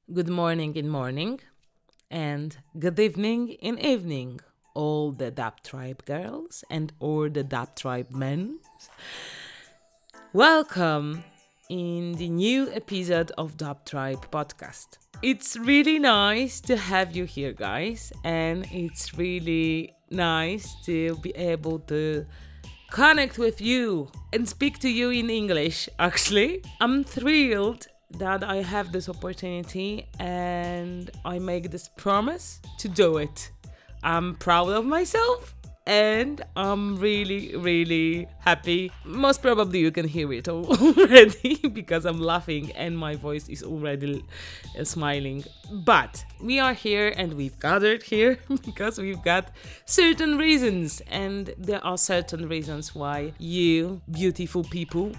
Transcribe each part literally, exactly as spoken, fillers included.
good morning in morning, and good evening in evening, all the Dub Tribe girls and all the Dub Tribe men. Welcome in the new episode of Dub Tribe podcast. It's really nice to have you here, guys, and it's really nice to be able to connect with you and speak to you in English. Actually, I'm thrilled that I have this opportunity and I make this promise to do it. I'm proud of myself and I'm really, really happy. Most probably you can hear it already because I'm laughing and my voice is already uh, smiling. But we are here and we've gathered here because we've got certain reasons, and there are certain reasons why you beautiful people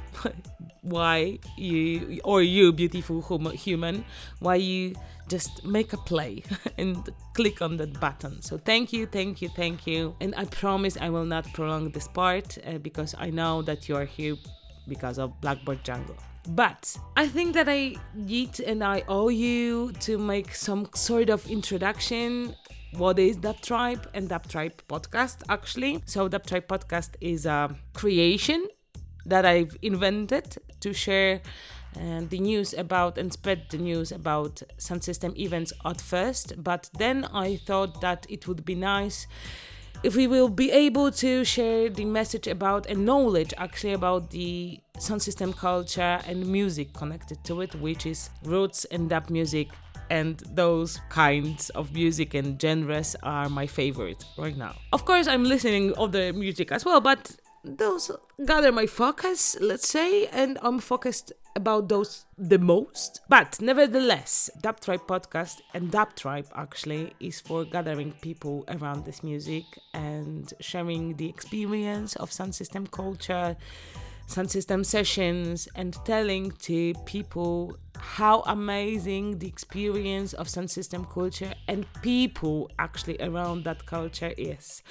why you or you beautiful hum- human why you just make a play and click on that button. So thank you, thank you, thank you. And I promise I will not prolong this part uh, because I know that you are here because of Blackboard Jungle. But I think that I need and I owe you to make some sort of introduction. What is Dub Tribe and Dub Tribe podcast actually? So Dub Tribe podcast is a creation that I've invented to share uh, the news about and spread the news about sound system events at first, but then I thought that it would be nice if we will be able to share the message about and knowledge actually about the sound system culture and music connected to it, which is roots and dub music. And those kinds of music and genres are my favorite right now. Of course, I'm listening other music as well, but those gather my focus, let's say, and I'm focused about those the most. But nevertheless, Dub Tribe podcast and Dub Tribe actually is for gathering people around this music and sharing the experience of sound system culture, sound system sessions, and telling to people how amazing the experience of sound system culture and people actually around that culture is.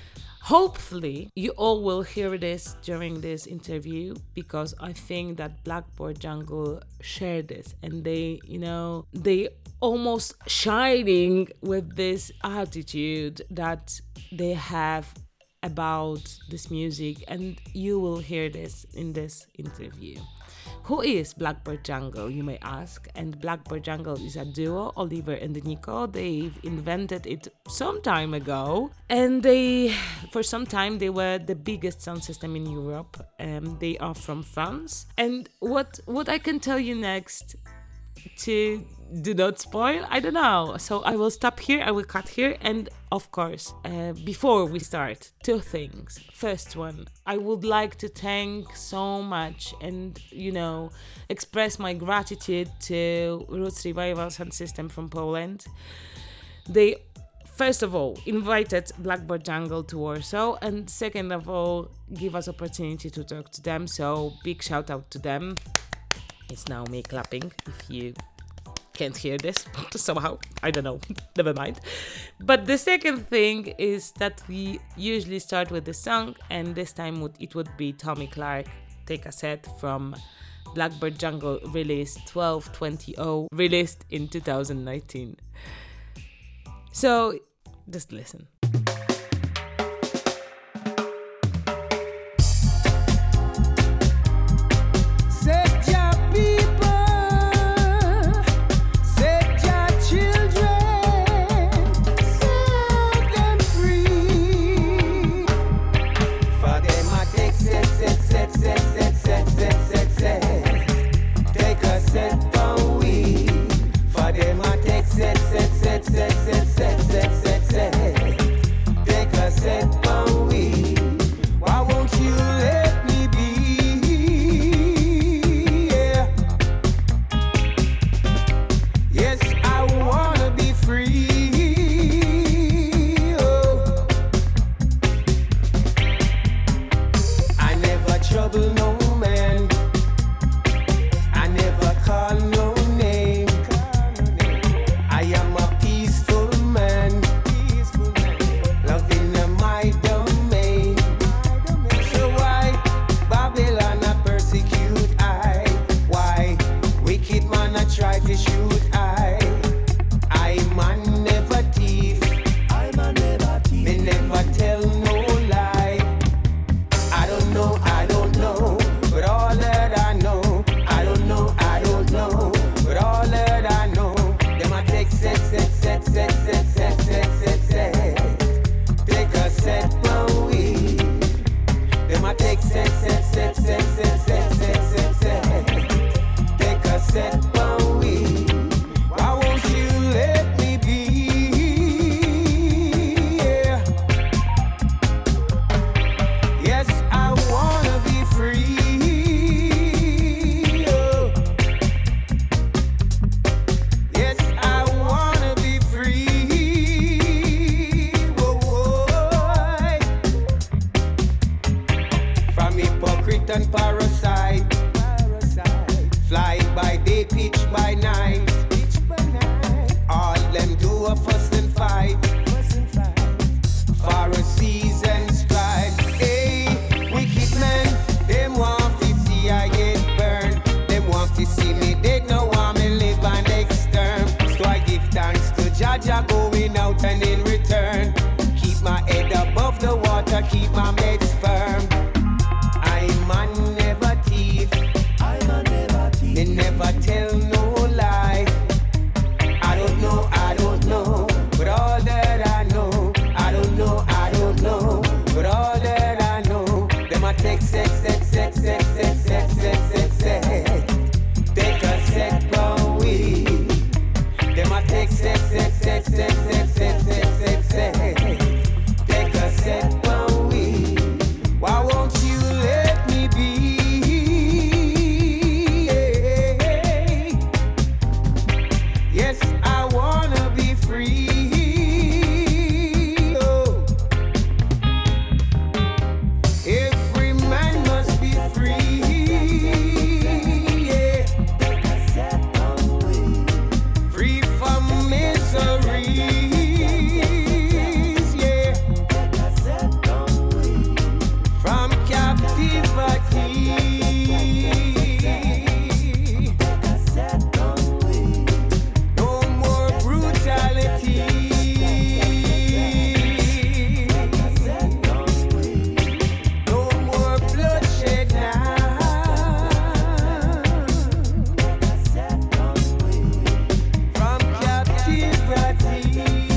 Hopefully, you all will hear this during this interview because I think that Blackboard Jungle share this and they, you know, they almost shining with this attitude that they have about this music, and you will hear this in this interview. Who is Blackboard Jungle, you may ask? And Blackboard Jungle is a duo, Oliver and Nico. They've invented it some time ago, and they, for some time, they were the biggest sound system in Europe. Um, they are from France. And what what I can tell you next to do not spoil, I don't know. So I will stop here, I will cut here, and of course, uh, before we start, two things. First one, I would like to thank so much and, you know, express my gratitude to Roots Revival Sound System from Poland. They, first of all, invited Blackboard Jungle to Warsaw, and second of all, give us opportunity to talk to them, so big shout out to them. It's now me clapping, if you can't hear this somehow. I don't know. Never mind. But the second thing is that we usually start with the song, and this time it would be Tommy Clark, Take a Set from Blackboard Jungle, released twelve twenty, released in two thousand nineteen. So just listen. Set, set, set, set, set, set, set, set, set. set, set, set, set, set, set, set. Take a set on me. Why won't you let me be? Yes, I wanna be free. Oh. Every man must be free. Yeah. Free from miseries. Yeah. From captivity. No more brutality. No more bloodshed now. From captivity.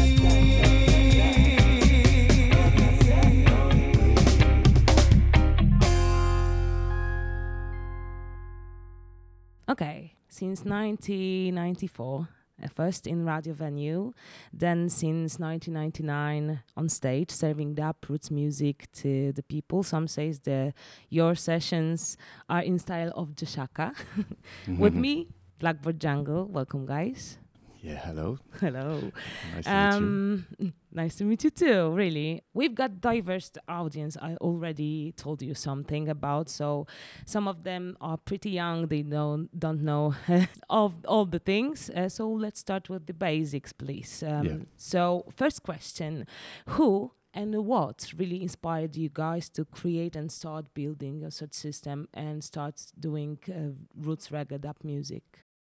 Okay, since nineteen ninety-four, uh, first in radio venue, then since nineteen ninety-nine on stage, serving the uproots music to the people. Some says the your sessions are in style of Jashaka. With me, Blackbird Jungle. Welcome, guys. Yeah, hello. Hello. Nice to meet you. Um, nice to meet you too, really. We've got diverse audience. I already told you something about. So some of them are pretty young. They don't, don't know of all the things. Uh, so let's start with the basics, please. Um, Yeah. So first question, who and what really inspired you guys to create and start building a such system and start doing uh, roots reggae dub music?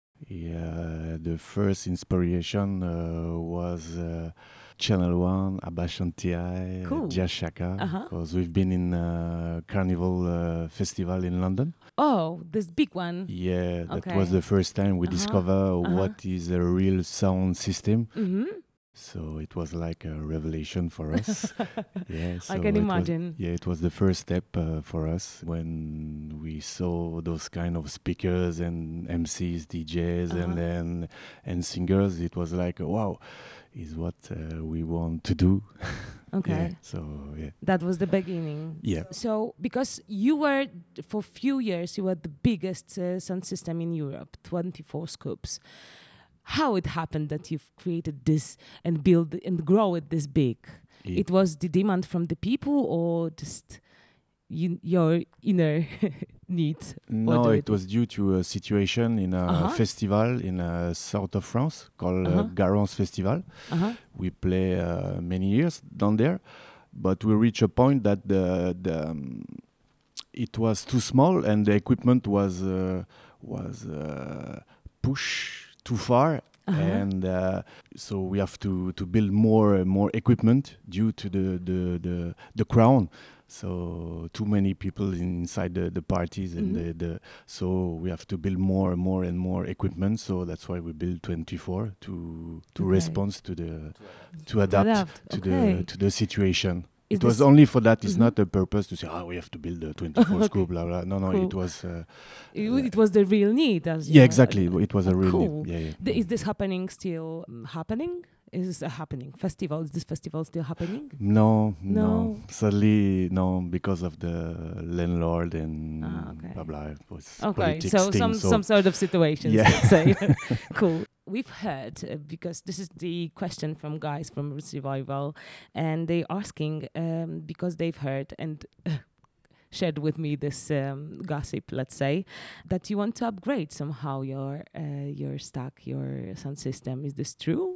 Yeah, the first inspiration uh, was uh, Channel One, Abashanti, Cool. Jashaka, Uh-huh. because we've been in uh, Carnival uh, Festival in London. Oh, this big one. Yeah, that Okay. was the first time we Uh-huh. discover Uh-huh. what is a real sound system. Mm-hmm. So it was like a revelation for us. Yeah, so I can it was- imagine. yeah, it was the first step uh, for us when we saw those kind of speakers and M Cs, D Js, Uh-huh. and then and singers. It was like, wow, is what uh, we want to do. Okay. Yeah, so yeah, That was the beginning. yeah, So, because you were, for few years, you were the biggest uh, sound system in Europe, twenty-four scoops. How it happened that you've created this and build and grow it this big? It- It was the demand from the people or just you, your inner need? No, do it it? was due to a situation in a Uh-huh. festival in uh, south of France called uh, Uh-huh. Garance Festival. Uh-huh. We play uh, many years down there, but we reached a point that the, the um, it was too small and the equipment was uh, was uh, pushed too far. Uh-huh. And uh, so we have to, to build more and more equipment due to the the, the, the crown. So too many people inside the, the parties and Mhm. the, the so we have to build more and more and more equipment. So that's why we build twenty-four to to Okay. respond to the to adapt, Adapt, to okay. the to the situation. Is It was this- only for that. It's Mhm. not a purpose to say, oh, we have to build a twenty-four Okay. scoop, blah blah. No, no, Cool. it was. Uh, It, it was the real need. As you yeah, know. exactly. It was a really. Cool. Yeah, yeah. Th- Is this happening still um, happening? Is this a happening festival? Is this festival still happening? No, No. no, Sadly, no, because of the landlord and Ah, okay. blah blah. It was Okay, politics so thing, some so some sort of situations, Yeah. let's say. Cool. We've heard uh, because this is the question from guys from Roots Revival, and they asking um, because they've heard and shared with me this um, gossip, let's say, that you want to upgrade somehow your uh, your stack, your sound system. Is this true?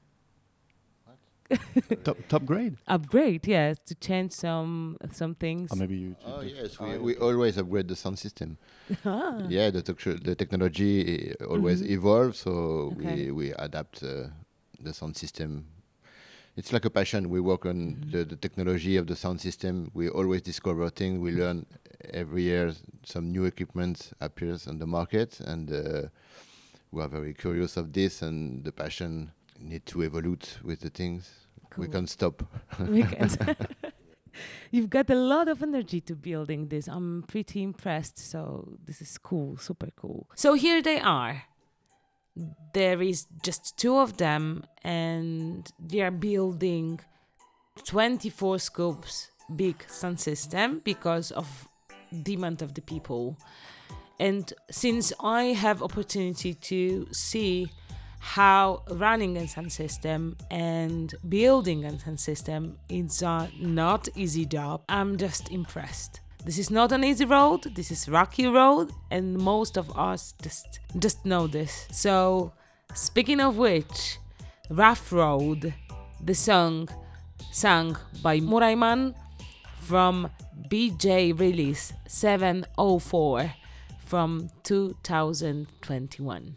top top grade. Upgrade, yes, to change some some things. Or maybe you. Oh yes, Ah, we, yeah, we okay. always upgrade the sound system. Ah. Yeah, the, tec- the technology uh, always Mhm. evolves, so Okay. we, we adapt uh, the sound system. It's like a passion. We work on Mhm. the, the technology of the sound system. We always discover things. We learn every year. Some new equipment appears on the market, and uh, we are very curious of this. And the passion need to evolve with the things. We Cool. can't stop. We can't. You've got a lot of energy to building this. I'm pretty impressed. So this is cool, super cool. So here they are. there is just two of them, and they are building twenty-four scopes big sound system because of demand of the people. And since I have opportunity to see how running a sound system and building a sound system is a not easy job, I'm just impressed. This is not an easy road, this is rocky road, and most of us just just know this. So speaking of which, Rough Road, the song sung by Murayman from B J release seven oh four from two thousand twenty-one.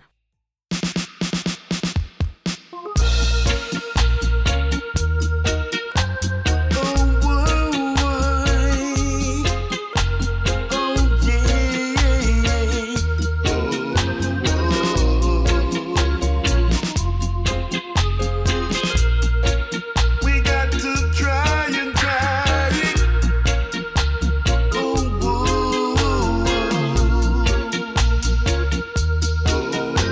Oh,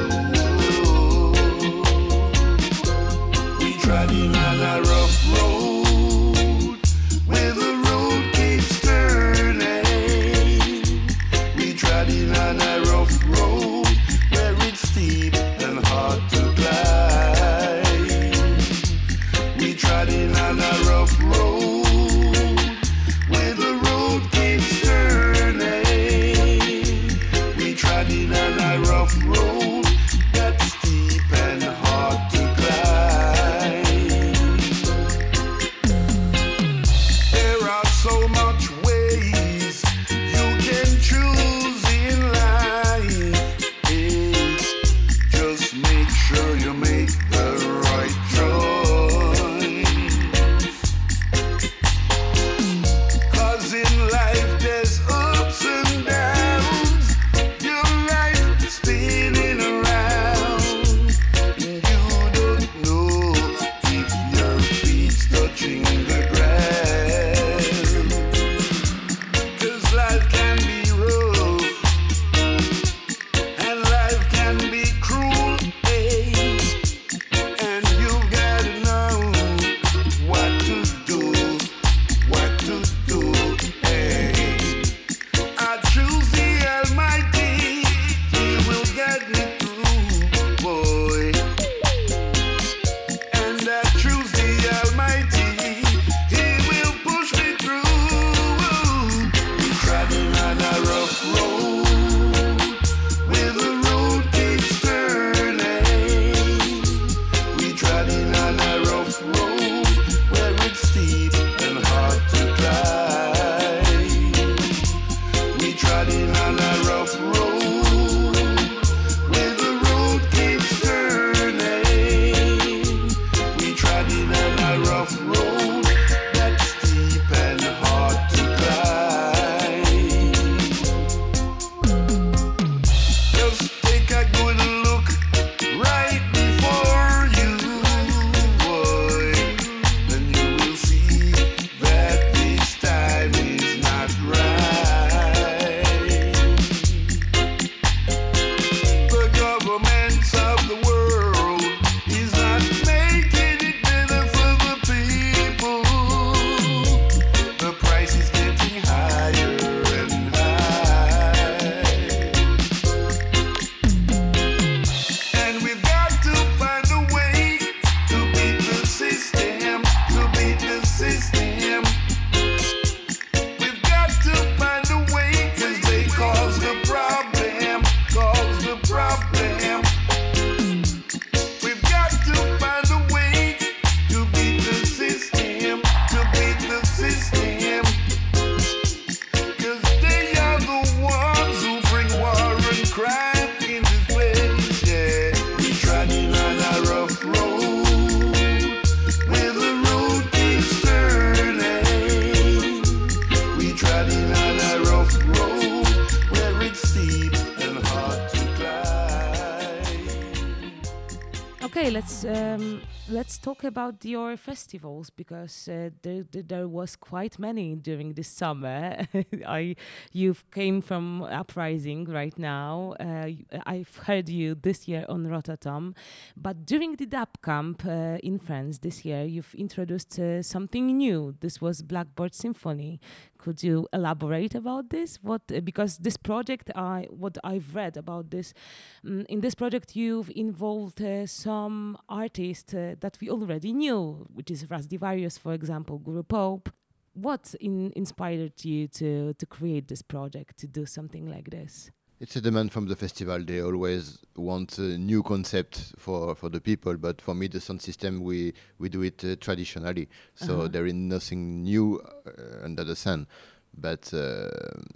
Okay, let's um, let's talk about your festivals because uh, there, there there was quite many during this summer. I you've came from Uprising right now. Uh, y- I've heard you this year on Rototom, but during the Dub Camp uh, in France this year, you've introduced uh, something new. This was Blackboard Symphony. Could you elaborate about this? What uh, because this project, I what I've read about this, mm, in this project you've involved uh, some artists uh, that we already knew, which is Rasdivarius, for example, Guru Pope. What in, inspired you to to create this project, to do something like this? It's a demand from the festival. They always want a new concept for, for the people, but for me, the sound system, we, we do it uh, traditionally. So Uh-huh. there is nothing new uh, under the sun. But uh,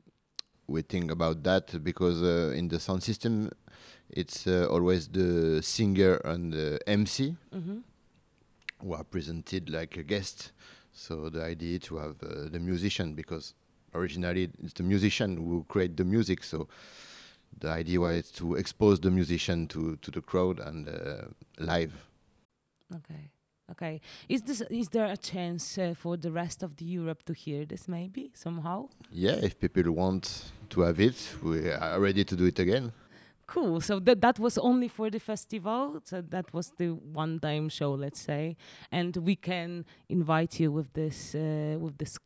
we think about that because uh, in the sound system, it's uh, always the singer and the M C Mm-hmm. who are presented like a guest. So the idea to have uh, the musician, because originally it's the musician who create the music. So the idea was to expose the musician to, to the crowd and uh, live. Okay. Okay. Is this is there a chance uh, for the rest of the Europe to hear this maybe somehow? Yeah, if people want to have it, we are ready to do it again. Cool. So that that was only for the festival. So that was the one-time show, let's say, and we can invite you with this uh, with this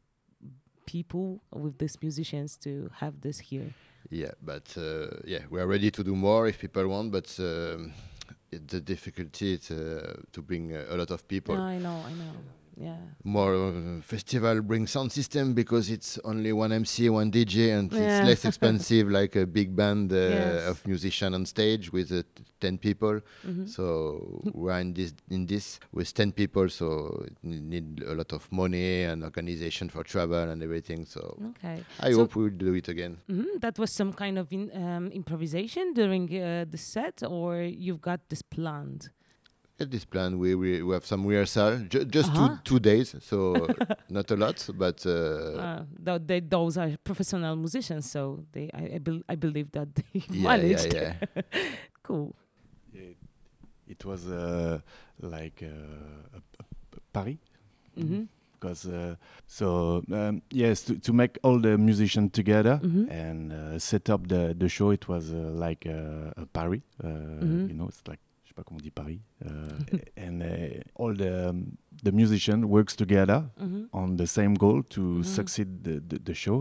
people, with these musicians to have this here. Yeah, but uh, yeah, we are ready to do more if people want, but um, it, the difficulty is uh, to bring uh, a lot of people. I know, I know. Yeah. More uh, festival bring sound system because it's only one M C, one D J, and Yeah. it's less expensive like a big band uh, Yes. of musicians on stage with uh, t- ten people. Mhm. So we're in this in this with ten people, so it ne- need a lot of money and organization for travel and everything. So Okay. I So- hope we'll do it again. Mhm. That was some kind of in, um, improvisation during uh, the set, or you've got this planned? At this plan, we, we we have some rehearsal, ju- just Uh-huh. two two days, so not a lot, but uh, Uh, th- they, those are professional musicians, so they I, I, bel I believe that they yeah, yeah, managed. yeah. Cool. Yeah, it was uh, like uh, a, a, a Paris. Mm-hmm. Because uh, so um, yes, to, to make all the musicians together Mhm. and uh, set up the, the show, it was uh, like uh, a Paris. Uh, Mhm. You know, it's like je sais pas comment on dit Paris. Uh, and uh, all the um, the musician works together Mm-hmm. on the same goal to Mhm. succeed the, the, the show.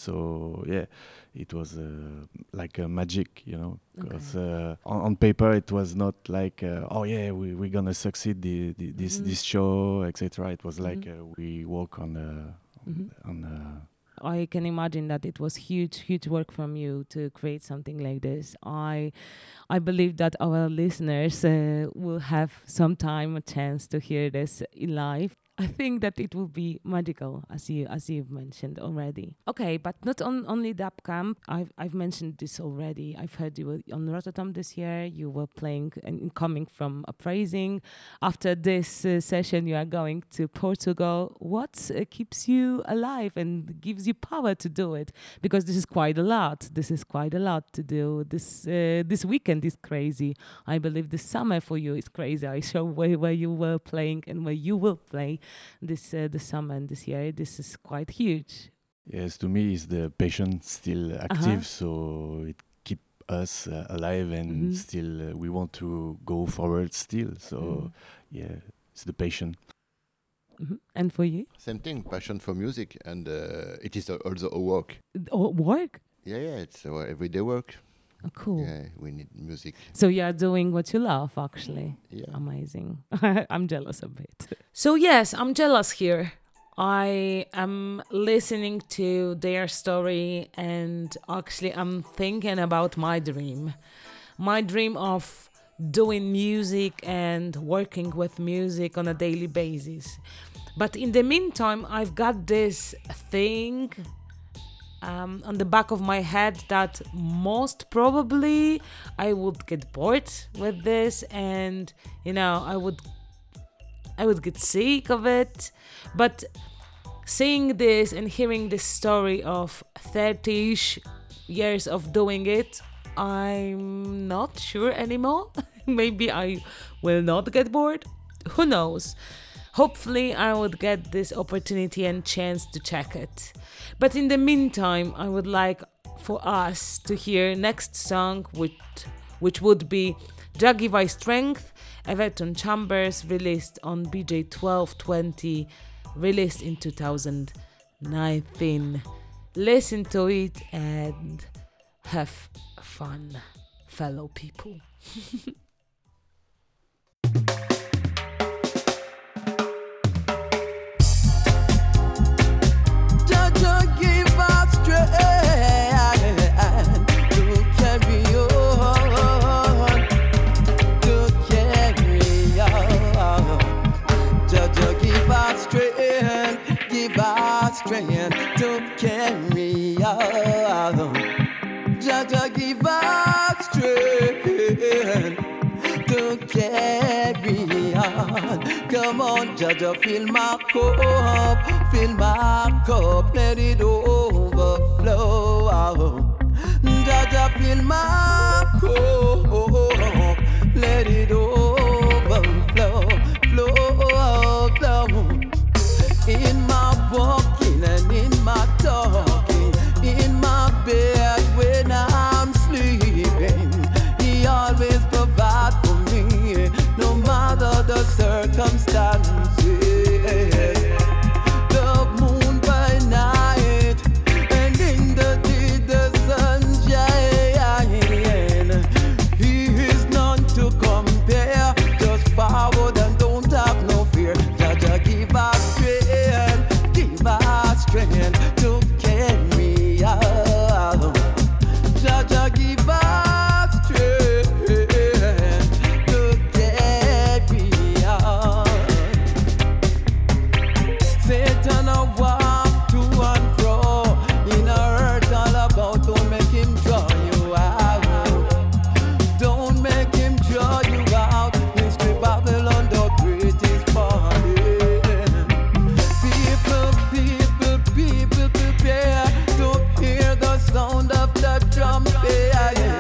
So yeah, it was uh, like a magic, you know, because uh, on, on paper it was not like uh, oh yeah we we're gonna succeed the, the this Mhm. this show, et cetera. It was like Mhm. uh, we work on uh, Mhm. on. Uh, I can imagine that it was huge, huge work from you to create something like this. I, I believe that our listeners uh, will have some time, a chance to hear this in live. I think that it will be magical, as you as you've mentioned already. Okay, but not on only Dub Camp. I've I've mentioned this already. I've heard you were on Rotterdam this year. You were playing and coming from Uprising. After this uh, session, you are going to Portugal. What uh, keeps you alive and gives you power to do it? Because this is quite a lot. This is quite a lot to do. This uh, this weekend is crazy. I believe the summer for you is crazy. I saw where, where you were playing and where you will play this uh, the summer and this year. This is quite huge. yes, to me, is the patient still active, so it keep us uh, alive, and Mhm. still uh, we want to go forward still. So Mm. yeah, it's the patient. Mhm. And for you, Same thing, passion for music, and uh, it is al- also a work. oh, work. Yeah, yeah, it's our everyday work. Oh, cool. Yeah, we need music. So you are doing what you love, actually. Yeah. Amazing. I'm jealous a bit. So yes, I'm jealous here. I am listening to their story and actually I'm thinking about my dream. My dream of doing music and working with music on a daily basis. But in the meantime, I've got this thing um, on the back of my head that most probably I would get bored with this, and you know I would I would get sick of it. But seeing this and hearing this story of thirty-ish years of doing it, I'm not sure anymore. Maybe I will not get bored. Who knows? Hopefully, I would get this opportunity and chance to check it. But in the meantime, I would like for us to hear next song, which which would be Jah Give I Strength, Everton Chambers, released on B J twelve twenty, released in two thousand nineteen. Listen to it and have fun, fellow people. Strength to carry on. Jah give us strength to carry on. Come on, Jah, fill my cup, fill my cup, let it overflow. Jah, fill my cup, let it overflow, flow, flow. In my walking and in my talking, in my bed when I'm sleeping, He always provides for me, no matter the circumstances. The moon by night and in the day the sunshine. He is none to compare, just forward and don't have no fear. Jah give us strength to carry on. Jah give us strength to carry on. Satan a walk to and fro in a earth all about. Don't make him draw you out. Don't make him draw you out. History Babylon the great is falling. People prepare to hear the sound of the trumpet,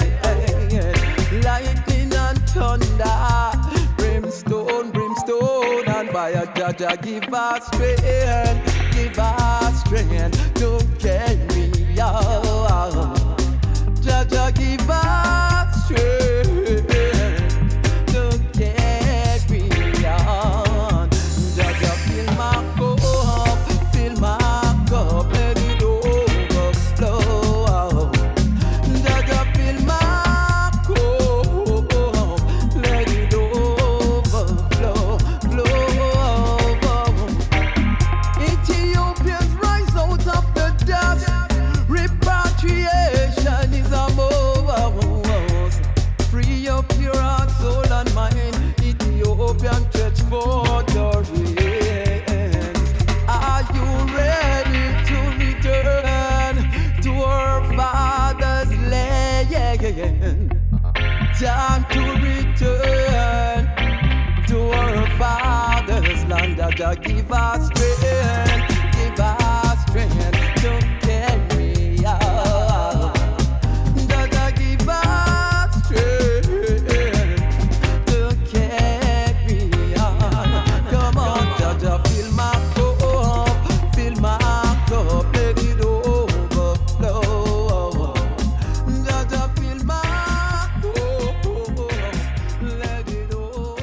lightning and thunder, brimstone, brimstone and fire. Jah give us strength, give us strength to carry on. Jah give us strength to carry on. Jah fill my cup, fill my cup, let it overflow. Jah fill my cup, let it overflow, flow. Ethiopians rise out of the dust. Repatriation is among us. Free up your heart, soul and mind. Ethiopian church for your hands. Are you ready to return to our father's land? Time to return to our father's land. Jah give us strength, give us strength to carry on. Jah give us strength to carry on. Come on, Jah fill my cup, fill my cup, let it overflow. Jah fill my cup, let it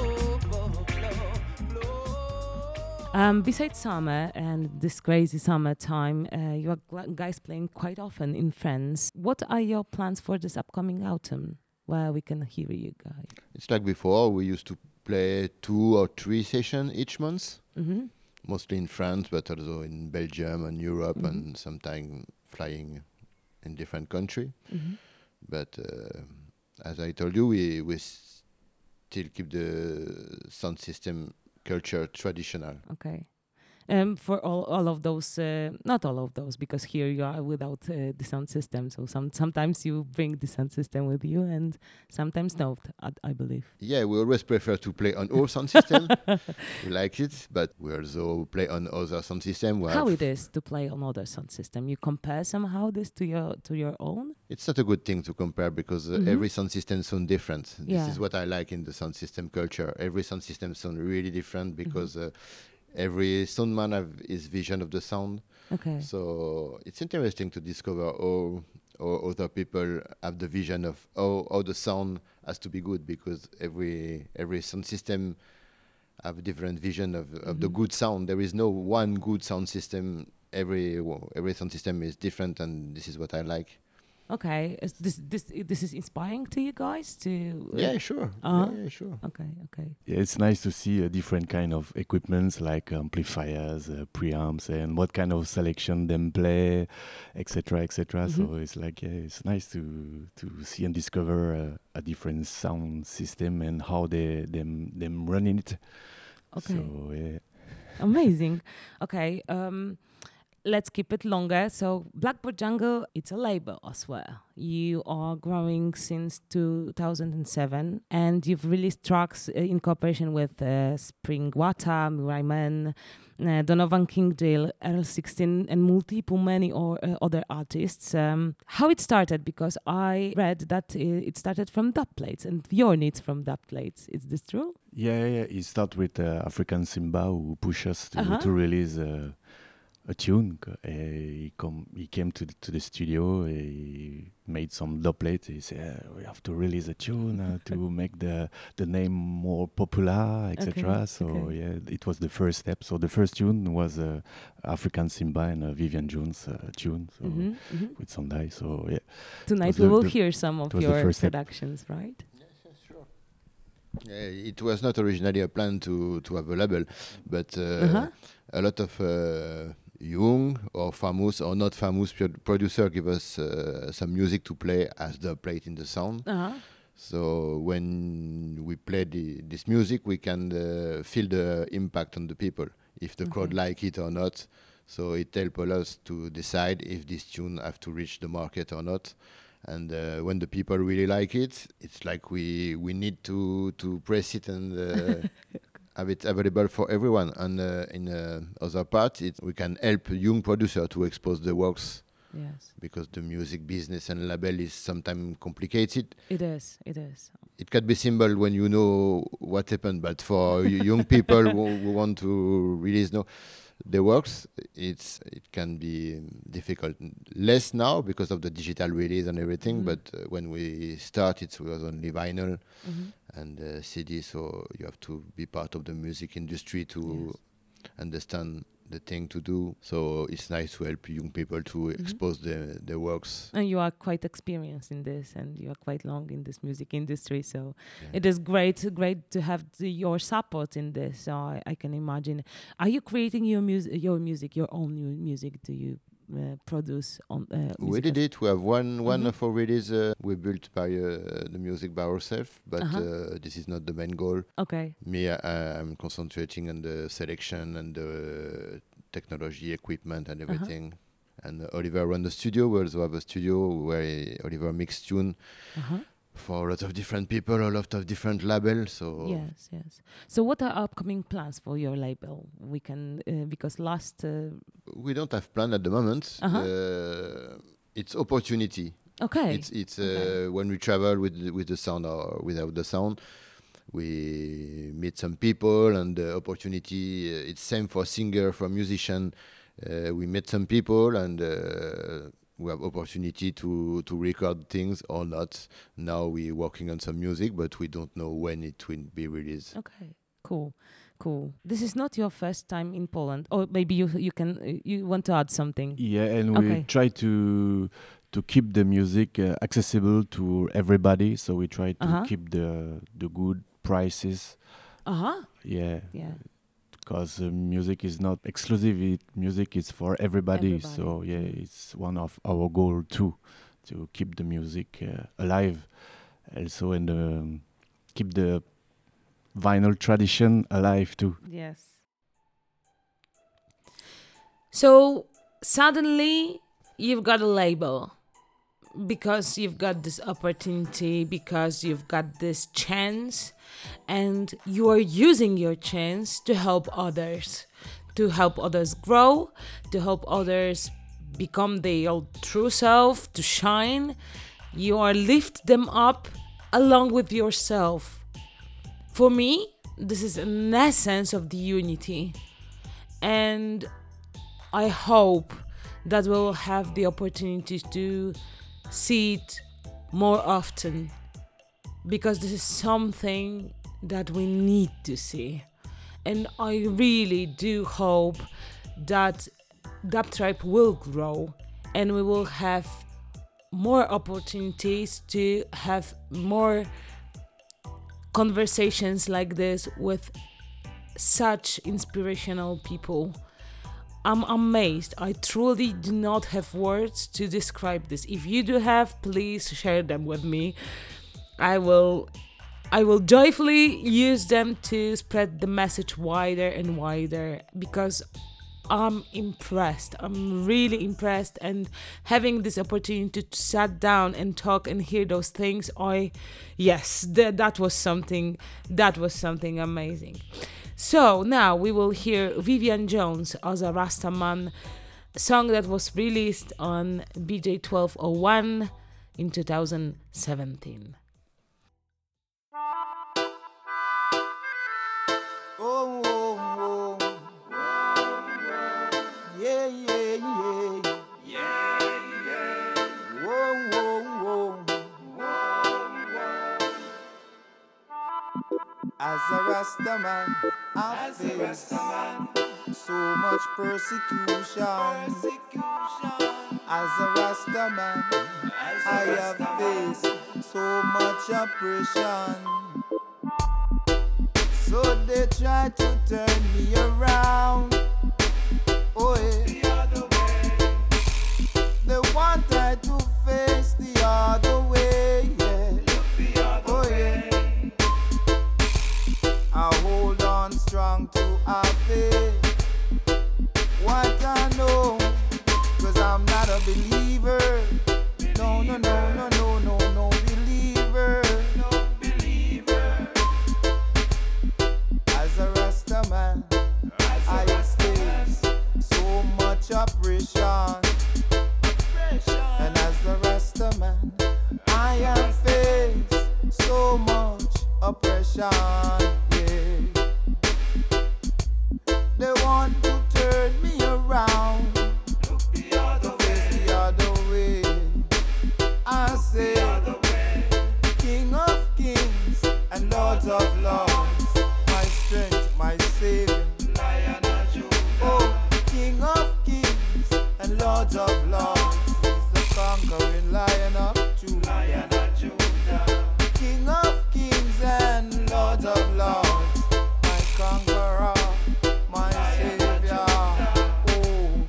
overflow. Um, besides summer and this crazy summertime, uh, you are gl- guys playing quite often in France. What are your plans for this upcoming autumn, where we can hear you guys? It's like before, we used to play two or three sessions each month, Mm-hmm. mostly in France, but also in Belgium and Europe, and sometimes flying in different countries. Mm-hmm. But uh, as I told you, we we still keep the sound system culture traditional. Okay. um, for all, all of those, uh, not all of those, because here you are without uh, the sound system. So some sometimes you bring the sound system with you, and sometimes not. I, I believe. Yeah, we always prefer to play on our sound system. We like it, but we also play on other sound system. We How have- it is to play on other sound system? You compare somehow this to your to your own? It's not a good thing to compare because uh, Mhm. every sound system sounds different. Yeah. This is what I like in the sound system culture. Every sound system sounds really different because uh, every soundman have his vision of the sound. Okay. So it's interesting to discover how, how other people have the vision of how, how the sound has to be good because every every sound system have a different vision of, of the Mhm. good sound. There is no one good sound system. Every wo- every sound system is different, and this is what I like. Okay. Is this this this is inspiring to you guys to. uh, Yeah, sure. Uh-huh. Yeah, yeah, sure. Okay. Okay. Yeah, it's nice to see a different kind of equipments like amplifiers, uh, preamps, and what kind of selection them play, et cetera, et cetera. Mhm. So it's like yeah, it's nice to to see and discover uh, a different sound system and how they them them running it. Okay. So yeah. Amazing. Okay. Um, let's keep it longer. So Blackbird Jungle, it's a label as well. You are growing since two thousand seven, and you've released tracks uh, in cooperation with uh, Spring Water, Mirai Man, uh, Donovan Kingdale, Earl sixteen, and multiple many or uh, other artists. Um, how it started? Because I read that uh, it started from dub plates, and your needs from dub plates. Is this true? Yeah, yeah, it started with uh, African Simba who pushed us to, Uh-huh. to release uh, a tune. C- Uh, he, come, he came to the, to the studio, he made some dubplate. He said, "Yeah, we have to release a tune uh, to make the, the name more popular, et cetera" Okay, So okay. yeah, it was the first step. So the first tune was uh, African Simba and uh, Vivian Jones uh, tune, so Mhm, mhm. with Sandai. So yeah, Tonight was we the- will the- hear some of it was the your first step. productions, right? Yeah, it was not originally a plan to, to have a label, but uh, Uh-huh. a lot of uh, young or famous or not famous pro- producer give us uh, some music to play as the plate in the sound. Uh-huh. So when we play the, this music, we can uh, feel the impact on the people, if the crowd Okay. like it or not. So it helps us to decide if this tune have to reach the market or not. And uh, when the people really like it, it's like we we need to to press it and uh, have it available for everyone. And uh, in uh, other part, it, we can help young producer to expose the works Yes, because the music business and label is sometimes complicated. it is. It is. It can be simple when you know what happened, but for y- young people who, who want to release no the works, it's it can be um, difficult. Less now because of the digital release and everything, Mhm. but uh, when we started, it was only vinyl Mhm. and uh, C D. So you have to be part of the music industry to understand the thing to do. So it's nice to help young people to Mhm. expose their their works. And you are quite experienced in this, and you are quite long in this music industry. So Yeah. it is great, great to have the, your support in this. So I, I can imagine. Are you creating your music, your music, your own new music? Do you uh, produce on? Uh, We music did as- it. We have one one Mhm. of our release uh, we built by uh, the music by ourselves, but Uh-huh. uh, this is not the main goal. Okay. Me, I, I'm concentrating on the selection and the technology, equipment, and Uh-huh. everything. And uh, Oliver run the studio. We also have a studio where he- Oliver mix tune Uh-huh. for a lot of different people, a lot of different labels. So Yes, yes. So what are upcoming plans for your label? We can uh, because last. Uh, we don't have plan at the moment. Uh-huh. Uh, it's opportunity. okay. It's it's Okay. uh, when we travel with the- with the sound or without the sound, we meet some people and the opportunity. Uh, it's same for singer, for musician. Uh, we met some people and uh, we have opportunity to to record things or not. Now we working on some music, but we don't know when it will be released. Okay, cool, cool. This is not your first time in Poland, or maybe you you can uh, you want to add something. Yeah, and we Okay. try to to keep the music uh, accessible to everybody. So we try to Uh-huh. keep the the good prices. Uh huh. Yeah, Yeah. because uh, music is not exclusive. It, music is for everybody. Everybody, So yeah, mm. it's one of our goal too, to keep the music uh, alive, also, and um, keep the vinyl tradition alive too. Yes. So suddenly you've got a label because you've got this opportunity, because you've got this chance, and you are using your chance to help others, to help others grow, to help others become their true self, to shine. You are lift them up along with yourself. For me, this is an essence of the unity, and I hope that we'll have the opportunity to see it more often, because this is something that we need to see. And I really do hope that Dub Tribe will grow and we will have more opportunities to have more conversations like this with such inspirational people. I'm amazed. I truly do not have words to describe this. If you do have, please share them with me. I will I will joyfully use them to spread the message wider and wider, because I'm impressed. I'm really impressed, and having this opportunity to sit down and talk and hear those things, I yes, that that was something that was something amazing. So now we will hear Vivian Jones as a Rastaman, song that was released on B J twelve oh one in two thousand seventeen. Oh, oh, oh. Yeah, yeah, yeah. Yeah, yeah. Whoa, whoa, whoa. As a Rastaman, I face so much persecution. As a Rastaman, I have faced so much oppression. So they try to turn me around. Oh, yeah. The other way. They wanted to face the other way. Yeah. Look the other oh, way. Yeah. I hold on strong to our faith. What I know, cause I'm not a believer. believer. No, no, no, no, no, no, no believer. No believer. As a Rastaman, I have faced so much oppression. And as a Rastaman, I have faced so much oppression. Yeah. They want to turn me around, look the other to face way. The other way. I say, King of Kings and Lords of Lords, my strength, my Savior, Lion of Judah. Oh, King of Kings and Lords of Lords, he's the conquering Lion of Judah. Lion of Judah. King of Kings and Lords of Lords, my conqueror, my Savior. Oh,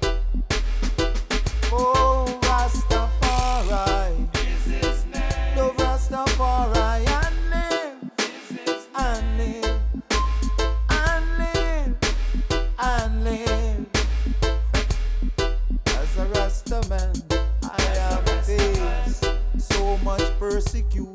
oh, Rastafari is his name. Love Rastafari and live, and live, and live, and live. As a Rastaman, I have faced so much persecution.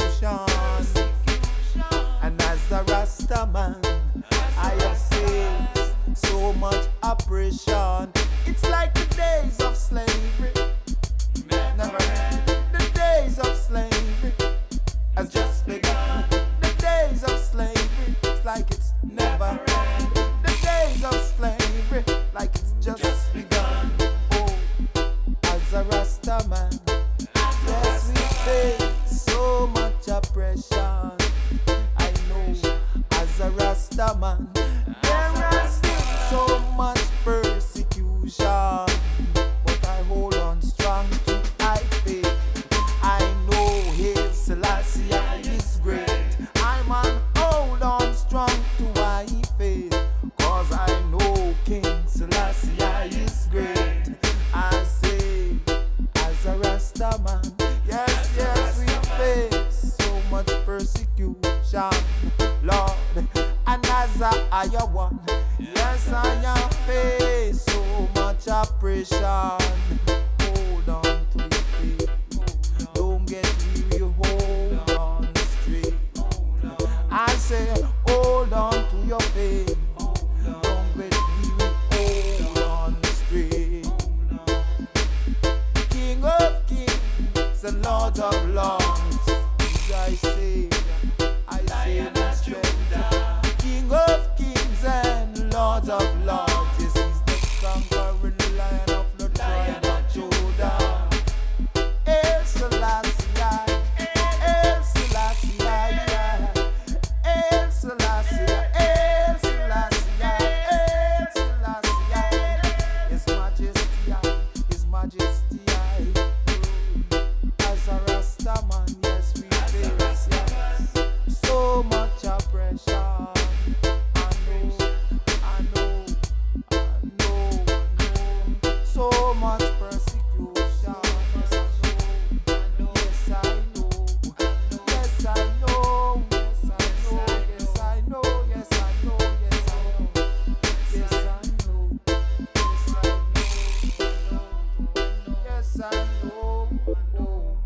And as a Rastaman, I have faced so much oppression. It's like the days of slavery. Never end. The days of slavery has just begun. The days of slavery, it's like it's never end. The days of slavery, like it's just begun. Oh, as a Rastaman, yes, we face so much oppression. I know, as a Rastaman, there is still so much persecution. But I hold on strong to I faith. I know His Selassie is great. I'm on hold on strong to I faith. Cause I know King Selassie is great. I say, as a Rastaman, yes, yes, we face so much persecution, Lord. And as a higher one, yes, I have faced so much much oppression. Hold on to your faith. Don't get weary, hold on straight. I say, hold on to your faith. Don't get weary, hold on straight. King of kings and Lord of lords, I say, I say respect. King of kings and Lord of lords. Conquering lion of the tribe of Judah. El Selassie, El Selassie, El Selassie, El Selassie, El Selassie. His Majesty, His Majesty. As a Rastaman, yes we face, yes. So much oppression. So much persecution. Yes, I know. Yes, I know. Yes, I know. Yes, I know. Yes, I know. Yes, I know. Yes, I know. Yes, I know.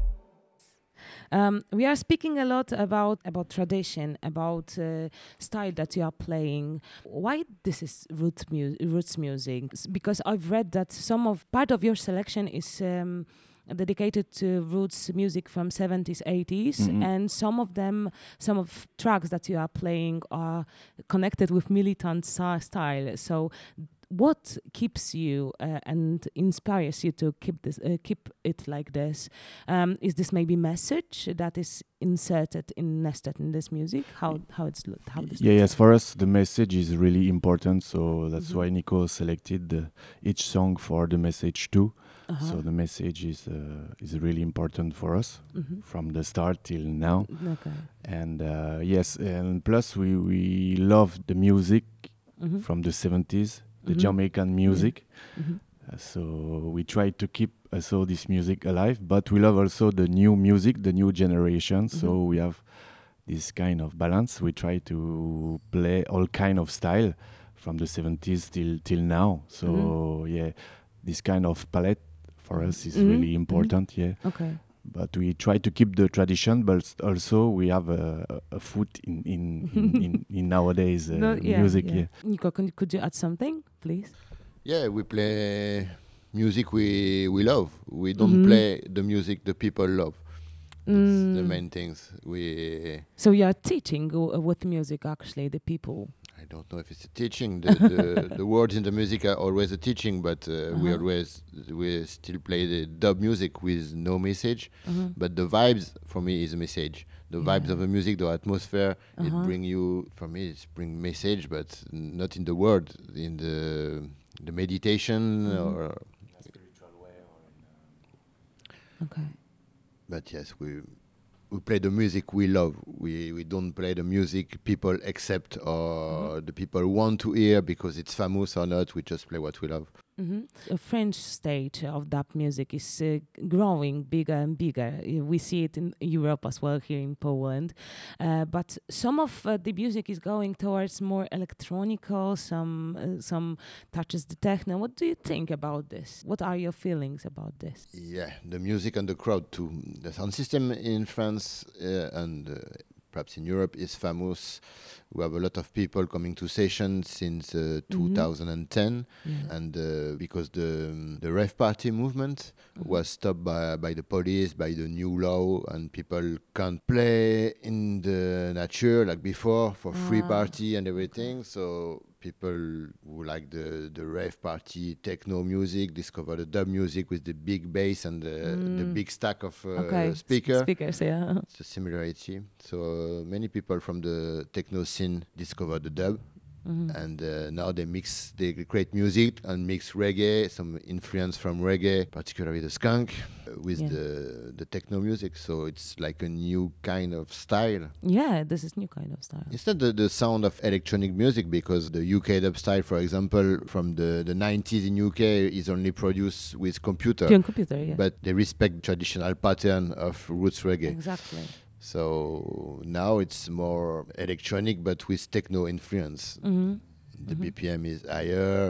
Um, we are speaking a lot about about tradition, about uh, style that you are playing. Why this is root mu- roots music? S- Because I've read that some of part of your selection is um, dedicated to roots music from seventies, eighties, Mhm. and some of them, some of tracks that you are playing are connected with militant sa- style. So what keeps you uh, and inspires you to keep this uh, keep it like this? Um, is this maybe message that is inserted in nested in this music? How how it's lo- how this Yeah, looks yes, like? for us the message is really important, so that's Mhm. why Nico selected the, each song for the message too. Uh-huh. So the message is uh, is really important for us Mhm. from the start till now. Okay. And uh, yes, and plus we we love the music Mhm. from the seventies, the Mhm. Jamaican music. Mhm. Uh, so we try to keep also this music alive, but we love also the new music, the new generation. So Mhm. we have this kind of balance. We try to play all kind of style from the seventies till till now. So yeah, this kind of palette for us is Mhm. really Mhm. important. Yeah, Okay. but we try to keep the tradition, but s- also we have a, a, a foot in in in, in, in nowadays uh, No, yeah, music. yeah. Yeah. Nico, can, could you add something, please? Yeah, we play music we we love. We don't Mhm. play the music the people love. That's the Mm. main things. We So you are teaching uh, with music, actually, the people. I don't know if it's a teaching. The the, the words in the music are always a teaching, but uh, we Uh-huh. always we still play the dub music with no message. Uh-huh. But the vibes for me is a message. The vibes Yeah. of the music, the atmosphere, Uh-huh. it bring you. For me, it's bring message, but not in the word, in the the meditation Mhm. or. Okay. But yes, we we play the music we love. We we don't play the music people accept or the people want to hear because it's famous or not. We just play what we love. hmm A French stage of dub music is uh, growing bigger and bigger. Uh, We see it in Europe as well, here in Poland. Uh, but some of uh, the music is going towards more electronical, some uh, some touches the techno. What do you think about this? What are your feelings about this? Yeah, the music and the crowd too. The sound system in France uh, and uh, perhaps in Europe is famous. We have a lot of people coming to sessions since uh, two thousand ten, Yeah. and uh, because the um, the rave party movement was stopped by by the police, by the new law, and people can't play in the nature like before for free Ah, party and everything. So people who like the the rave party techno music discover the dub music with the big bass and the, the Mm. big stack of uh, okay. S- speaker. Speakers, yeah. It's a similarity. So uh, many people from the techno scene discover the dub, Mhm. and uh, now they mix, they create music and mix reggae, some influence from reggae, particularly the skunk, uh, with Yeah. the the techno music. So it's like a new kind of style. Yeah, this is new kind of style. It's not the, the sound of electronic music, because the U K dub style, for example, from the, the nineties in U K is only produced with computer. Pure computer, yeah. But they respect traditional pattern of roots reggae. Exactly. So now it's more electronic, but with techno influence. hmm The B P M is higher,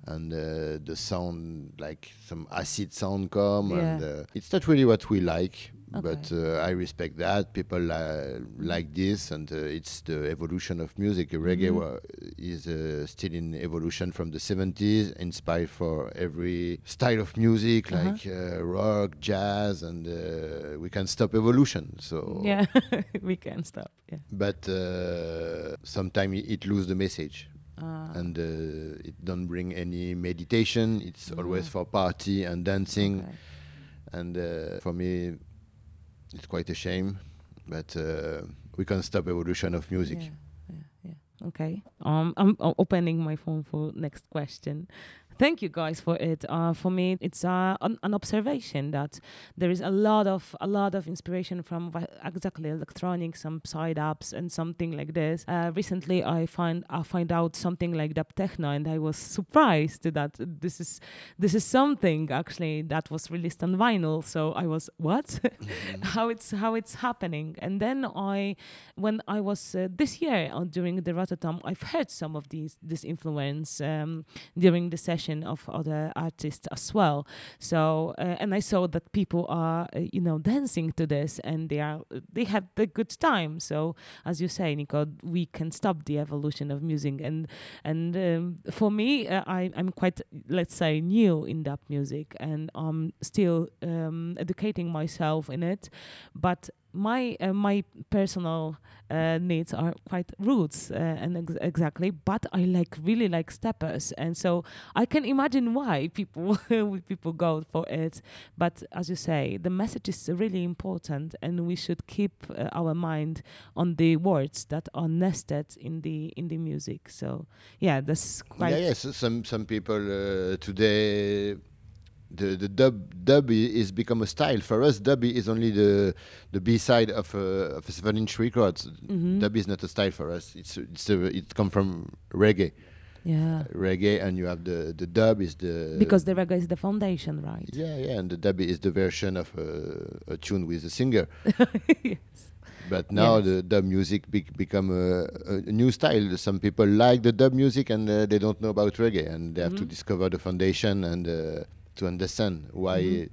and uh, the sound, like some acid sound come, Yeah. and uh, it's not really what we like. Okay. But uh, I respect that. People uh, like this, and uh, it's the evolution of music. Reggae Mhm. wa- is uh, still in evolution from the seventies, inspired for every style of music, Uh-huh. like uh, rock, jazz, and uh, we can stop evolution. So, Yeah, we can stop. Yeah. but uh, sometimes it, it lose the message, Ah, and uh, it don't bring any meditation. It's always Ah. for party and dancing, okay. and uh, for me, it's quite a shame. But uh, we can stop evolution of music. Yeah, yeah, yeah. Okay. Um, I'm, I'm opening my phone for next question. Thank you guys for it. Uh, for me, it's uh, an, an observation that there is a lot of a lot of inspiration from vi- exactly electronic, some side ups and something like this. Uh, recently, I find I find out something like dub techno, and I was surprised that this is this is something actually that was released on vinyl. So I was what? how it's how it's happening? And then I, when I was uh, this year uh, during the Rotterdam, I've heard some of these this influence um, during the session of other artists as well. So uh, and I saw that people are uh, you know dancing to this, and they are they have the good time. So as you say, Nico, we can stop the evolution of music, and and um, for me, uh, I I'm quite, let's say, new in that music, and I'm still um, educating myself in it, but my uh, my personal uh, needs are quite roots uh, and ex- exactly, but I like really like steppers, and so I can imagine why people people go for it. But as you say, the message is really important, and we should keep uh, our mind on the words that are nested in the in the music. So yeah, that's quite Yeah, yes. Some some people uh, today, the the dub dub i- is become a style. For us, dub is only the the B side of a of a seven inch record. Mhm. Dub is not a style for us. It's it's a, it come from reggae, yeah, reggae, and you have the the dub is the because the reggae is the foundation, right? yeah yeah, and the dub is the version of a, a tune with a singer. Yes. But now Yes. the dub music bec become a, a new style. Some people like the dub music, and uh, they don't know about reggae, and they have to Mhm. discover the foundation and uh, to understand why. Mhm.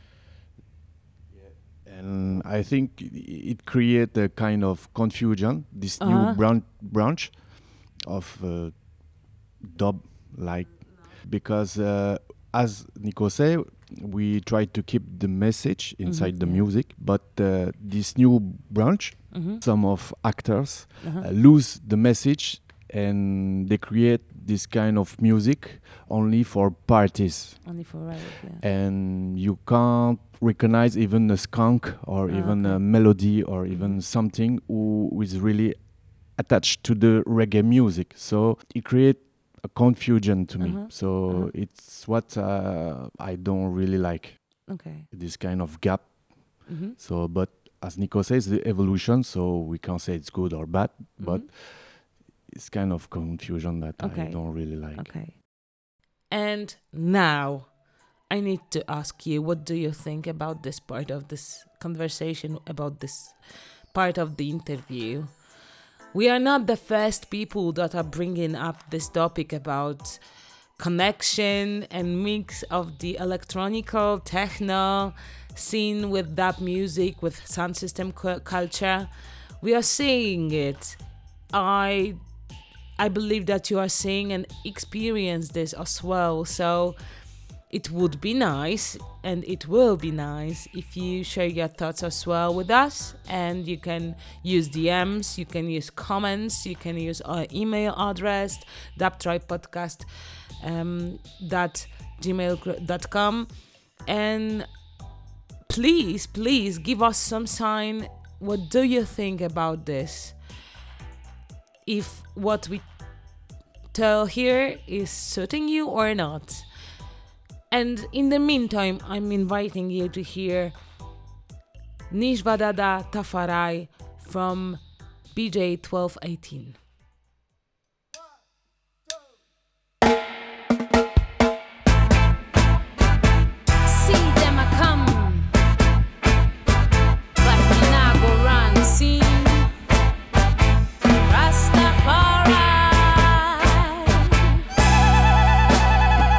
And I think i- it create a kind of confusion. This Uh-huh. new branch branch of uh, dub, like because uh, as Nico say, we try to keep the message inside the yeah. music, but uh, this new branch, Mhm. some of actors Uh-huh. uh, lose the message, and they create this kind of music only for parties, Only for right, yeah. and you can't recognize even a skunk or Ah, even okay. a melody or Mhm. even something who is really attached to the reggae music. So it creates a confusion to me. Uh-huh. So Uh-huh. it's what uh, I don't really like, Okay. this kind of gap. Mhm. So, but as Nico says, the evolution. So we can't say it's good or bad, but Mhm. it's kind of confusion that Okay. I don't really like. Okay. And now I need to ask you, what do you think about this part of this conversation, about this part of the interview? We are not the first people that are bringing up this topic about connection and mix of the electronical techno scene with that music, with sound system cu- culture. We are seeing it. I I believe that you are seeing and experience this as well. So it would be nice, and it will be nice, if you share your thoughts as well with us. And you can use D Ms, you can use comments, you can use our email address, dubtribepodcast um, dot gmail dot com. And please, please give us some sign. What do you think about this? If what we tell here is suiting you or not. And in the meantime, I'm inviting you to hear Nishvadada Tafarai from B J twelve eighteen. See them a come, but we not go run. See Rastafari.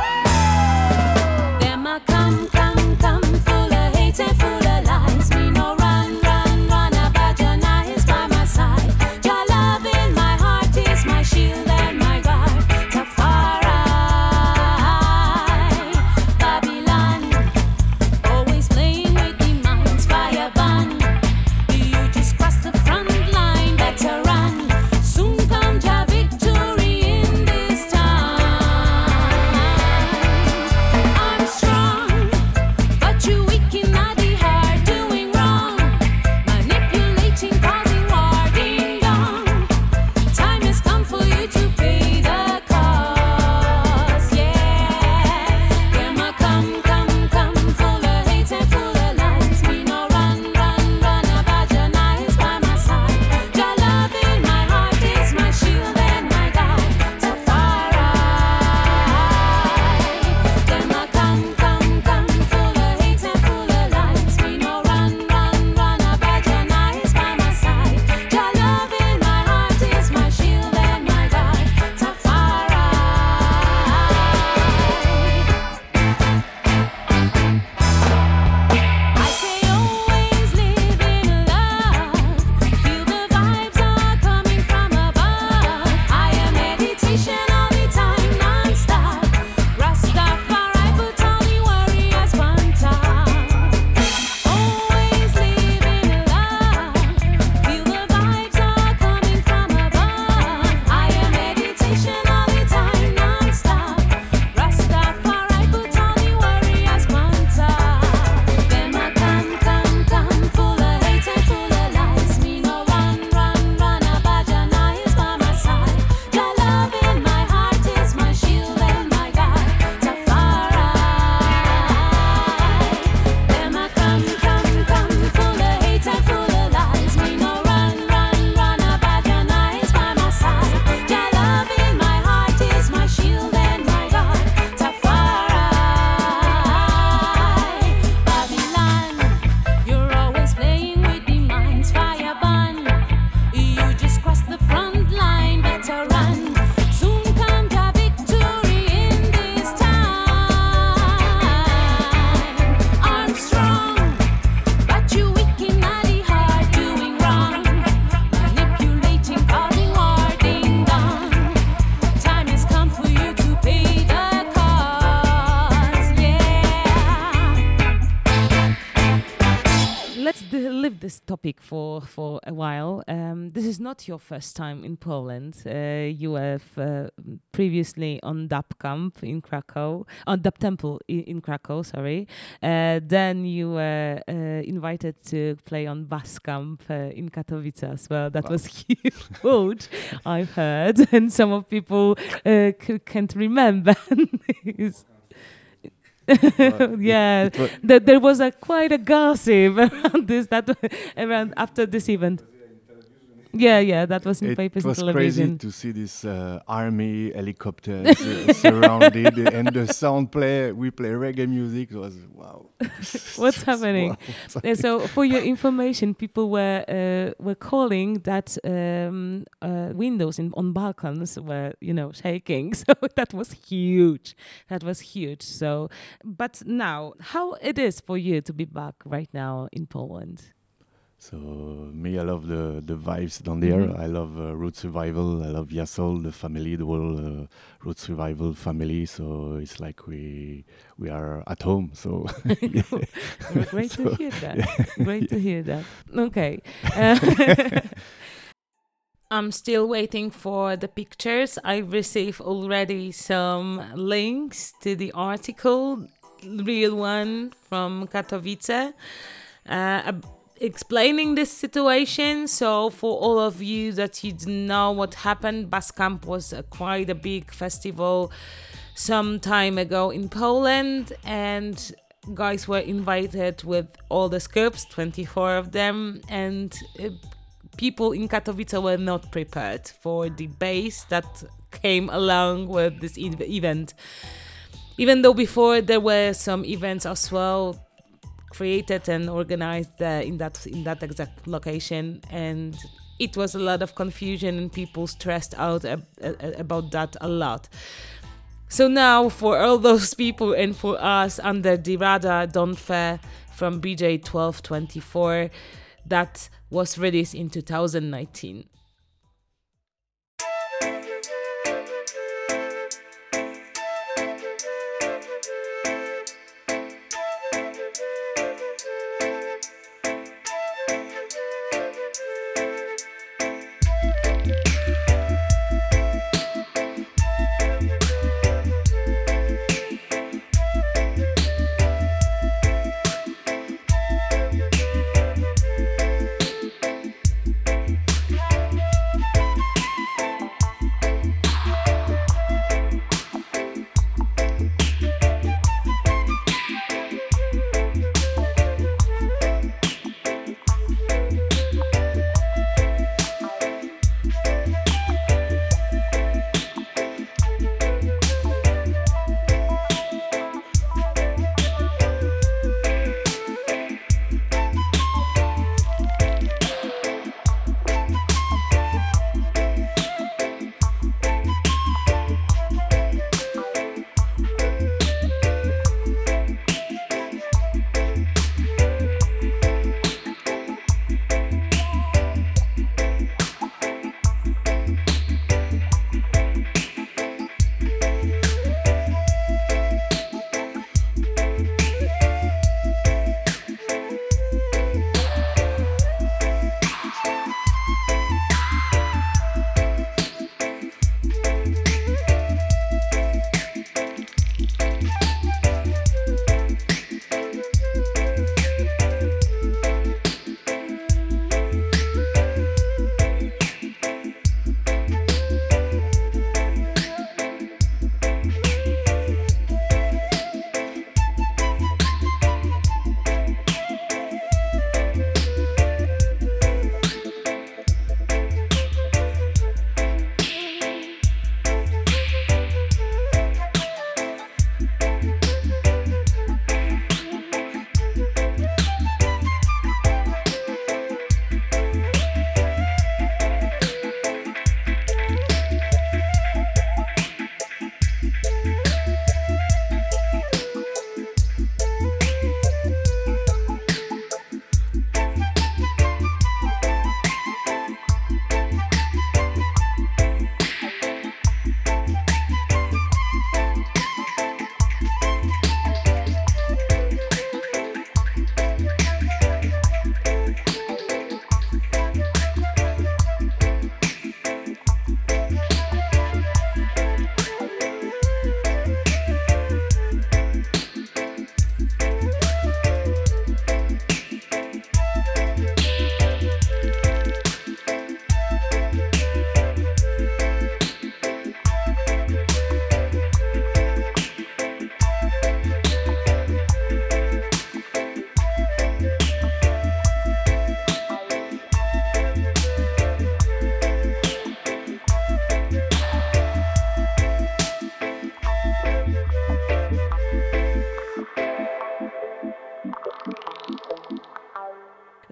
this topic for for a while. Um, this is not your first time in Poland. Uh, you have uh, previously on Dub Camp in Krakow, on Dub Temple in, in Krakow. Sorry. Uh, then you were uh, invited to play on Bass Camp uh, in Katowice as well. That Wow. was huge. I've heard, and some of people uh, c- can't remember. It's- yeah, It wa- that there was a quite a gossip around this that around after this event. Yeah, yeah, that was in It papers was and crazy television. to see this uh, army helicopters uh, surrounded and the sound play. We play reggae music. It was wow. What's happening? Wow. Uh, so, for your information, people were uh, were calling that um, uh, windows in, on balcons were, you know, shaking. So that was huge. That was huge. So, but now, how it is for you to be back right now in Poland? So me, I love the the vibes down there. Mhm. I love uh, Root Survival. I love Yassol, the family, the whole uh, Root Survival family. So it's like we we are at home. So yeah. Great to So, hear that. Great to hear that. Okay. Uh, I'm still waiting for the pictures. I received already some links to the article, real one from Katowice, uh, ab- explaining this situation. So for all of you that you didn't know what happened, Bass Camp was a, quite a big festival some time ago in Poland, and guys were invited with all the scopes, twenty-four of them, and uh, people in Katowice were not prepared for the bass that came along with this e- event. Even though before there were some events as well created and organized uh, in that in that exact location, and it was a lot of confusion and people stressed out ab- a- about that a lot. So now for all those people and for us under the radar, Don Fe from B J twelve twenty-four, that was released in two thousand nineteen.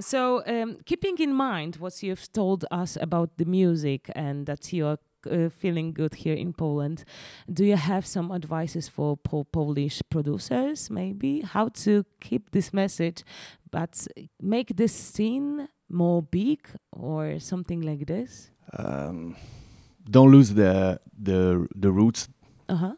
So, um, keeping in mind what you've told us about the music and that you're uh, feeling good here in Poland, do you have some advices for po- Polish producers, maybe, how to keep this message, but make this scene more big or something like this? Um, don't lose the the the roots. Uh-huh.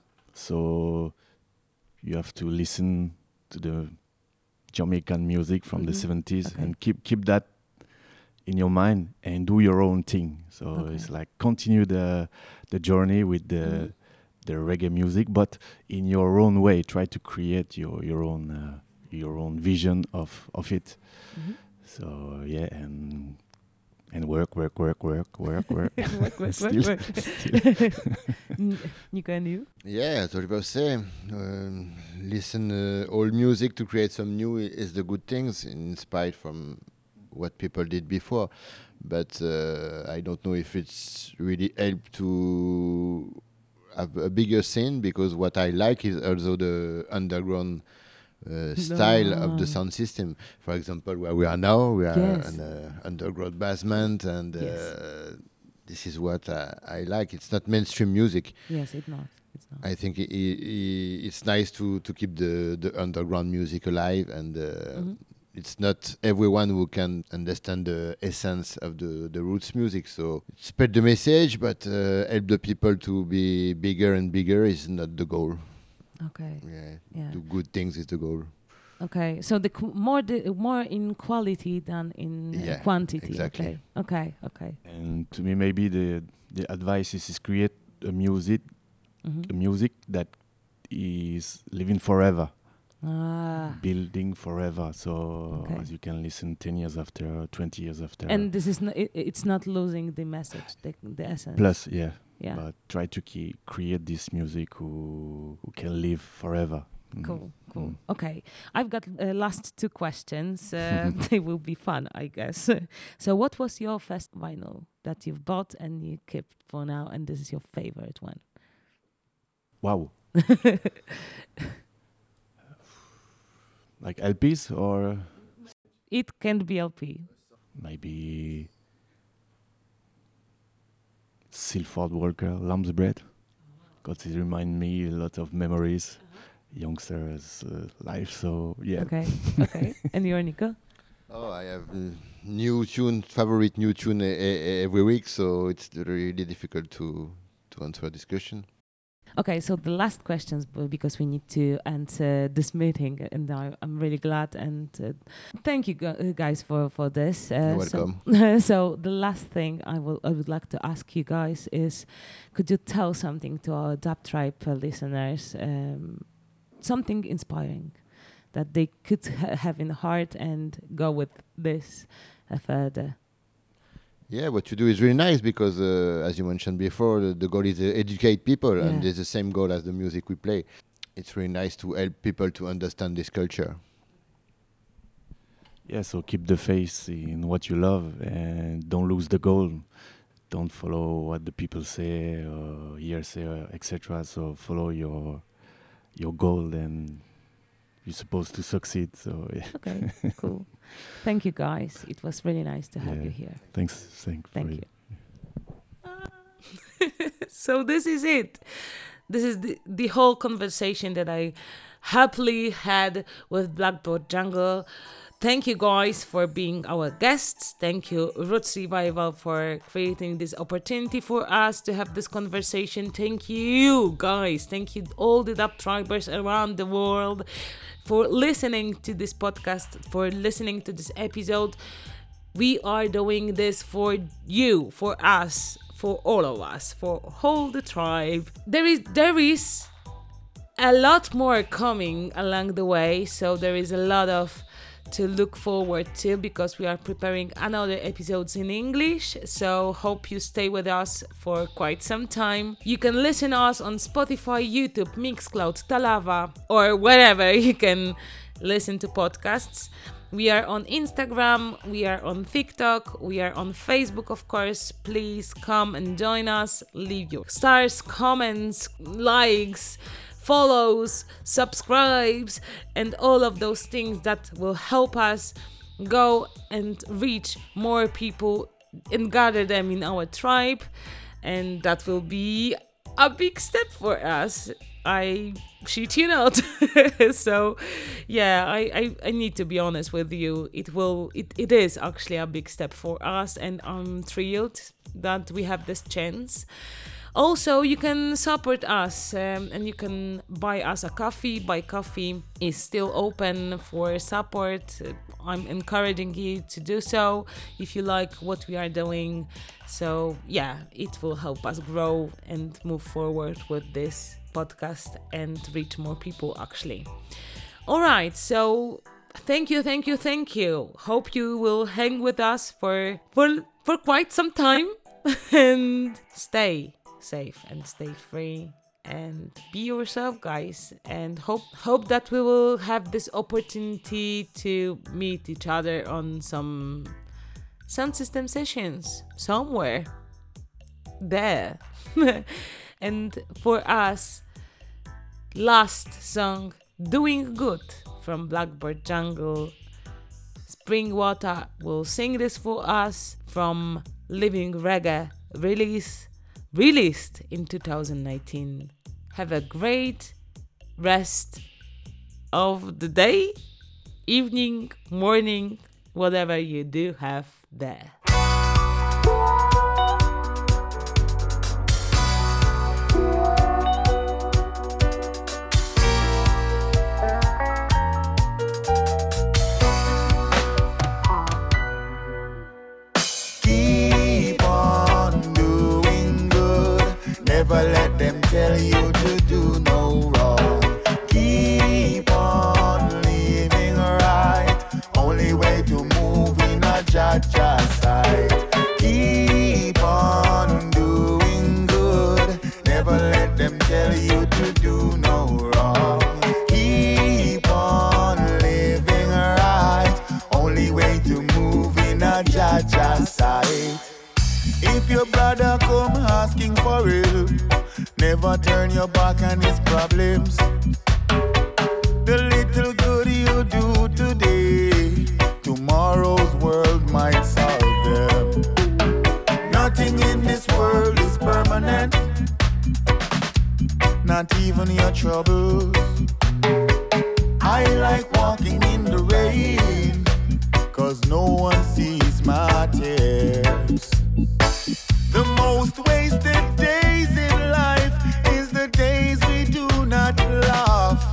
So you have to listen to the Jamaican music from the Mhm. seventies Okay. and keep keep that in your mind and do your own thing. So Okay. it's like continue the the journey with the Mhm. the reggae music, but in your own way. Try to create your your own uh, your own vision of of it. Mhm. So yeah, and and work, work, work, work, work, work. Work, work, Still- work, work. still. N- Nico and you? Yeah, as Oliver say, um, listen uh, old music to create some new i- is the good things, inspired from what people did before. But uh, I don't know if it's really helped to have a bigger scene, because what I like is also the underground uh, style of No. the sound system. For example, where we are now, we are Yes. an uh, underground basement, and Yes. uh, this is what I, I like. It's not mainstream music. Yes, it's not. It's not. I think i i it's nice to, to keep the, the underground music alive, and uh, Mhm. it's not everyone who can understand the essence of the, the roots music. So spread the message, but uh, help the people to be bigger and bigger is not the goal. Okay. Yeah, Yeah. do good things is the goal. Okay. So the qu- more the more in quality than in uh, Yeah, quantity. exactly. Okay. Okay. Okay. And to me, maybe the the advice is, is create a music Mhm. a music that is living forever, Ah. building forever. So Okay. as you can listen ten years after, twenty years after. And this is not. It, it's not losing the message, the, the essence. Plus, yeah. Yeah. But try to ke- create this music who who can live forever. Mm. Cool, cool. Mm. Okay, I've got uh, last two questions. Uh, they will be fun, I guess. So, what was your first vinyl that you've bought and you kept for now, and this is your favorite one? Wow. Like L Ps or It can be L P. maybe Silford Walker, Lamb's Bread, because it reminds me a lot of memories, youngsters' uh, life. So yeah, Okay, okay. And you're Nico? Oh, I have uh, new tune, favorite new tune e- e- every week, so it's really difficult to to answer a discussion. Okay, so the last questions, b- because we need to end uh, this meeting, and I, I'm really glad and uh, thank you gu- uh, guys for for this. Uh, You're so- welcome. So, the last thing I will I would like to ask you guys is, could you tell something to our Dub Tribe uh, listeners, um, something inspiring that they could ha- have in heart and go with this uh, further? Yeah, what you do is really nice, because, uh, as you mentioned before, the, the goal is to educate people, Yeah. and it's the same goal as the music we play. It's really nice to help people to understand this culture. yeah. So keep the faith in what you love and don't lose the goal. Don't follow what the people say or hearsay, et cetera. So follow your your goal, and you're supposed to succeed. So yeah. Okay, cool. Thank you guys. It was really nice to have Yeah. you here. Thanks. Thank, for Thank it. you. So this is it. This is the, the whole conversation that I happily had with Blackboard Jungle. Thank you guys for being our guests. Thank you, Roots Revival, for creating this opportunity for us to have this conversation. Thank you, guys. Thank you, all the Dub Tribers around the world, for listening to this podcast, for listening to this episode. We are doing this for you, for us, for all of us, for all the tribe. There is there is a lot more coming along the way, so there is a lot of to look forward to, because we are preparing another episodes in English. So hope you stay with us for quite some time. You can listen us on Spotify, YouTube, Mixcloud, Talava, or wherever you can listen to podcasts. We are on Instagram, we are on TikTok, we are on Facebook, of course. Please come and join us. Leave your stars, comments, likes, follows, subscribes, and all of those things that will help us go and reach more people and gather them in our tribe, and that will be a big step for us. I shit you not. So yeah, I, I, I need to be honest with you. It will it, it is actually a big step for us, and I'm thrilled that we have this chance. Also, you can support us um, and you can buy us a coffee. Buy Coffee is still open for support. I'm encouraging you to do so if you like what we are doing. So yeah, it will help us grow and move forward with this podcast and reach more people actually. All right, so thank you, thank you, thank you. Hope you will hang with us for for, for quite some time and stay safe and stay free and be yourself, guys, and hope hope that we will have this opportunity to meet each other on some sound system sessions somewhere there. And for us, last song, Doing Good from Blackbird Jungle. Springwater will sing this for us from Living Reggae release released in two thousand nineteen. Have a great rest of the day, evening, morning, whatever you do have there. Never let them tell you to do no wrong. Keep on living right. Only way to move in a Jah-Jah side. Keep on doing good. Never let them tell you to do no wrong. Keep on living right. Only way to move in a Jah-Jah side. If your brother come asking for help, never turn your back on his problems. The little good you do today, tomorrow's world might solve them. Nothing in this world is permanent, not even your troubles. I like walking in the rain, 'cause no one sees my tears. The most wasted days in life is the days we do not laugh.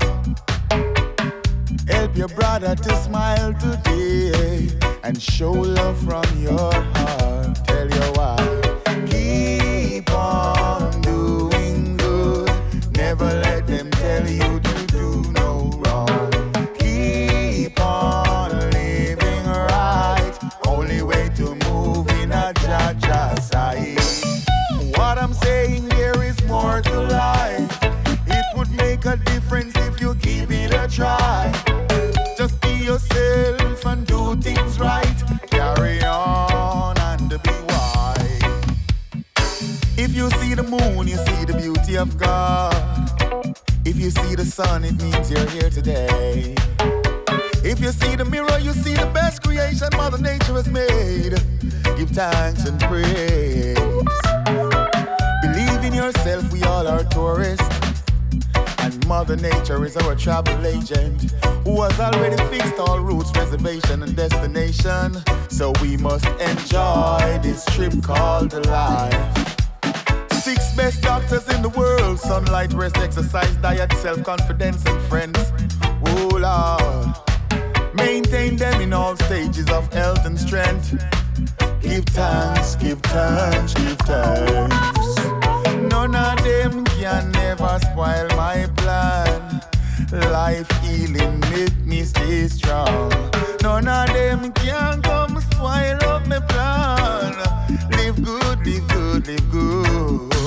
Help your brother to smile today and show love from your heart. Tell your wife, keep on doing good. Never let them tell you to do no wrong. Keep on living right. Only way to move in a Jah-Jah side. What I'm saying, there is more to life. It would make a difference if you give it a try. Just be yourself and do things right. Carry on and be wise. If you see the moon, you see the beauty of God. If you see the sun, it means you're here today. If you see the mirror, you see the best creation Mother Nature has made. Give thanks and praise. Believe in yourself, we all are tourists. And Mother Nature is our travel agent, who has already fixed all routes, reservation and destination. So we must enjoy this trip called life. Six best doctors in the world: sunlight, rest, exercise, diet, self-confidence and friends. Oh Lord, maintain them in all stages of health and strength. Give thanks, give thanks, give thanks. None of them can never spoil my plan. Life healing make me stay strong. None of them can come spoil up my plan. Live good, live good, live good.